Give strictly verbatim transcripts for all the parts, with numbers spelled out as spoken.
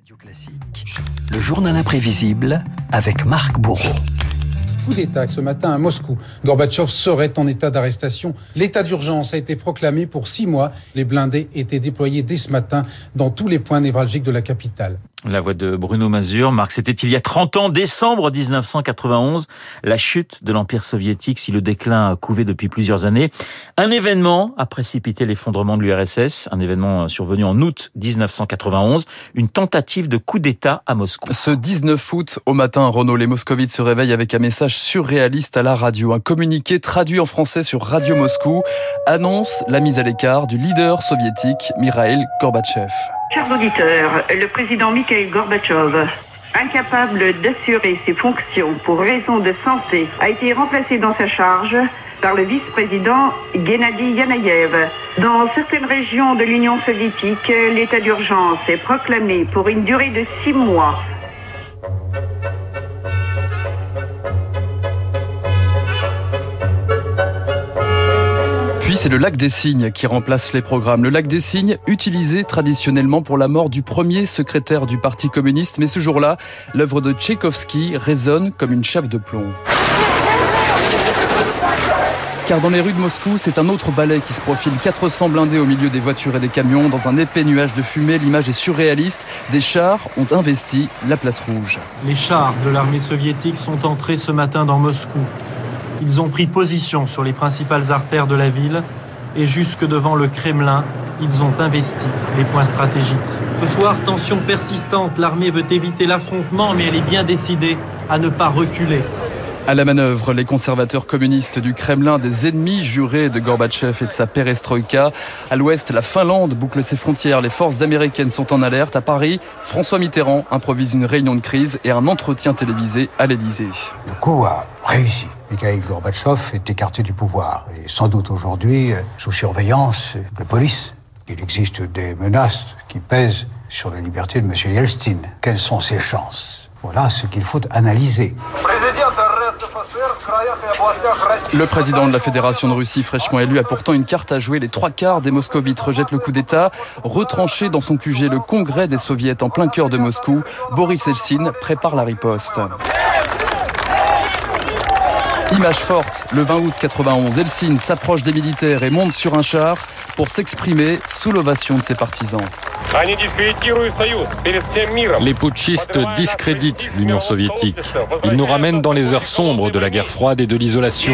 Radio Classique, le journal imprévisible avec Marc Bourreau. Coup d'État ce matin à Moscou. Gorbatchev serait en état d'arrestation. L'état d'urgence a été proclamé pour six mois. Les blindés étaient déployés dès ce matin dans tous les points névralgiques de la capitale. La voix de Bruno Mazur. Marc, c'était il y a trente ans, décembre dix-neuf cent quatre-vingt-onze, la chute de l'Empire soviétique, si le déclin a couvé depuis plusieurs années. Un événement a précipité l'effondrement de l'U R S S, un événement survenu en août dix-neuf cent quatre-vingt-onze, une tentative de coup d'État à Moscou. Ce dix-neuf août, au matin, Renaud, les moscovites se réveillent avec un message surréaliste à la radio. Un communiqué traduit en français sur Radio Moscou annonce la mise à l'écart du leader soviétique Mikhaïl Gorbatchev. Chers auditeurs, le président Mikhaïl Gorbatchev, incapable d'assurer ses fonctions pour raison de santé, a été remplacé dans sa charge par le vice-président Gennady Yanayev. Dans certaines régions de l'Union soviétique, l'état d'urgence est proclamé pour une durée de six mois. Puis c'est le lac des Cygnes qui remplace les programmes. Le lac des Cygnes, utilisé traditionnellement pour la mort du premier secrétaire du Parti communiste. Mais ce jour-là, l'œuvre de Tchaïkovski résonne comme une chape de plomb. Car dans les rues de Moscou, c'est un autre ballet qui se profile. quatre cents blindés au milieu des voitures et des camions. Dans un épais nuage de fumée, l'image est surréaliste. Des chars ont investi la place rouge. Les chars de l'armée soviétique sont entrés ce matin dans Moscou. Ils ont pris position sur les principales artères de la ville et jusque devant le Kremlin, ils ont investi les points stratégiques. Ce soir, tension persistante, l'armée veut éviter l'affrontement, mais elle est bien décidée à ne pas reculer. À la manœuvre, les conservateurs communistes du Kremlin, des ennemis jurés de Gorbatchev et de sa perestroïka. À l'ouest, la Finlande boucle ses frontières. Les forces américaines sont en alerte. À Paris, François Mitterrand improvise une réunion de crise et un entretien télévisé à l'Élysée. Le coup a réussi. Mikhaïl Gorbatchev est écarté du pouvoir et sans doute aujourd'hui sous surveillance de police. Il existe des menaces qui pèsent sur la liberté de M. Yeltsin. Quelles sont ses chances ? Voilà ce qu'il faut analyser. Le président de la Fédération de Russie, fraîchement élu, a pourtant une carte à jouer. Les trois quarts des moscovites rejettent le coup d'État. Retranché dans son Q G, le congrès des soviets en plein cœur de Moscou, Boris Eltsine prépare la riposte. Image forte, le vingt août quatre-vingt-onze, Eltsine s'approche des militaires et monte sur un char pour s'exprimer sous l'ovation de ses partisans. Les putschistes discréditent l'Union soviétique. Ils nous ramènent dans les heures sombres de la guerre froide et de l'isolation.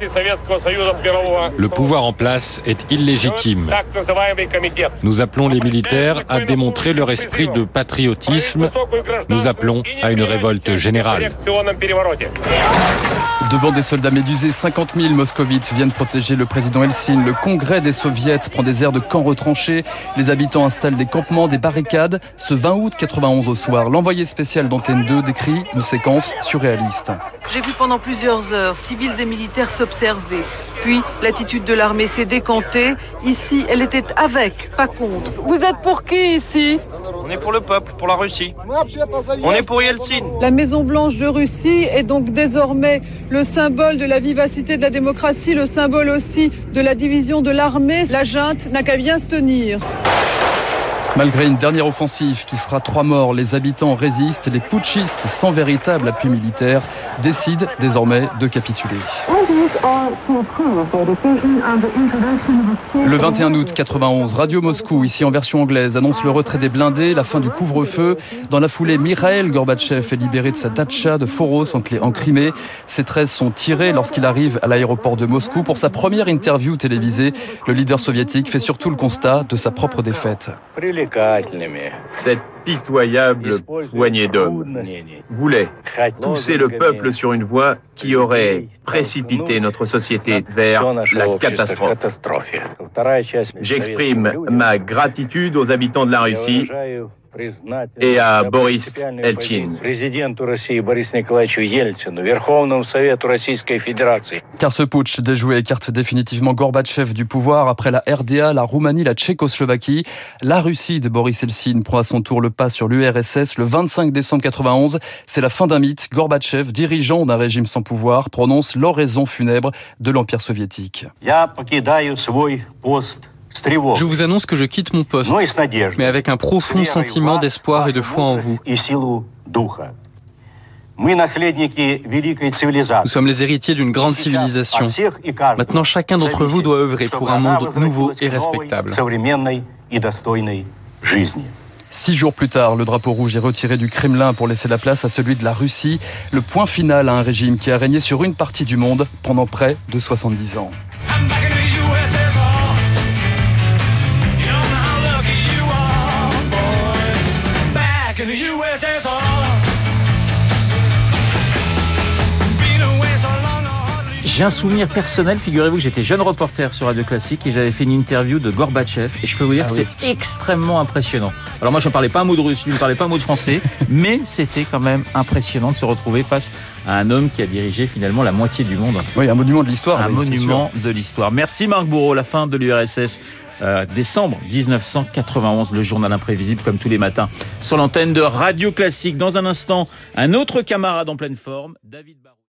Le pouvoir en place est illégitime. Nous appelons les militaires à démontrer leur esprit de patriotisme. Nous appelons à une révolte générale. Devant des soldats médusés, cinquante mille moscovites viennent protéger le président Eltsine. Le congrès des soviets prend des airs de camps retranchés. Les habitants installent des campements, des barricades. Ce vingt août quatre-vingt-onze au soir, l'envoyé spécial d'Antenne deux décrit une séquence surréaliste. J'ai vu pendant plusieurs heures civils et militaires s'observer. Puis l'attitude de l'armée s'est décantée. Ici, elle était avec, pas contre. Vous êtes pour qui ici ? On est pour le peuple, pour la Russie. On est pour Yeltsin. La Maison Blanche de Russie est donc désormais le symbole de la vivacité de la démocratie, le symbole aussi de la division de l'armée. La junte n'a qu'à bien se tenir. Malgré une dernière offensive qui fera trois morts, les habitants résistent. Les putschistes, sans véritable appui militaire, décident désormais de capituler. Le vingt et un août quatre-vingt-onze, Radio Moscou, ici en version anglaise, annonce le retrait des blindés, la fin du couvre-feu. Dans la foulée, Mikhaïl Gorbatchev est libéré de sa datcha de Foros en Crimée. Ses treize sont tirés lorsqu'il arrive à l'aéroport de Moscou. Pour sa première interview télévisée, le leader soviétique fait surtout le constat de sa propre défaite. Cette pitoyable poignée d'hommes voulait pousser le peuple sur une voie qui aurait précipité notre société vers la catastrophe. J'exprime ma gratitude aux habitants de la Russie et à Boris Eltsine. Car ce putsch déjoué écarte définitivement Gorbatchev du pouvoir. Après la R D A, la Roumanie, la Tchécoslovaquie, la Russie de Boris Eltsine prend à son tour le pas sur l'U R S S. Le vingt-cinq décembre quatre-vingt-onze, c'est la fin d'un mythe. Gorbatchev, dirigeant d'un régime sans pouvoir, prononce l'oraison funèbre de l'Empire soviétique. Je vous annonce que je quitte mon poste, mais avec un profond sentiment d'espoir et de foi en vous. Nous sommes les héritiers d'une grande civilisation. Maintenant, chacun d'entre vous doit œuvrer pour un monde nouveau et respectable. Six jours plus tard, le drapeau rouge est retiré du Kremlin pour laisser la place à celui de la Russie, le point final à un régime qui a régné sur une partie du monde pendant près de soixante-dix ans. J'ai un souvenir personnel, figurez-vous que j'étais jeune reporter sur Radio Classique et j'avais fait une interview de Gorbatchev et je peux vous dire ah que oui. c'est extrêmement impressionnant. Alors moi je ne parlais pas un mot de russe, lui ne parlait pas un mot de français, mais c'était quand même impressionnant de se retrouver face à un homme qui a dirigé finalement la moitié du monde. Oui, un monument de l'histoire. Un oui, monument de l'histoire. Merci Marc Bourreau, la fin de l'U R S S. Euh, décembre dix-neuf cent quatre-vingt-onze, le journal imprévisible comme tous les matins sur l'antenne de Radio Classique. Dans un instant, un autre camarade en pleine forme, David Barrault.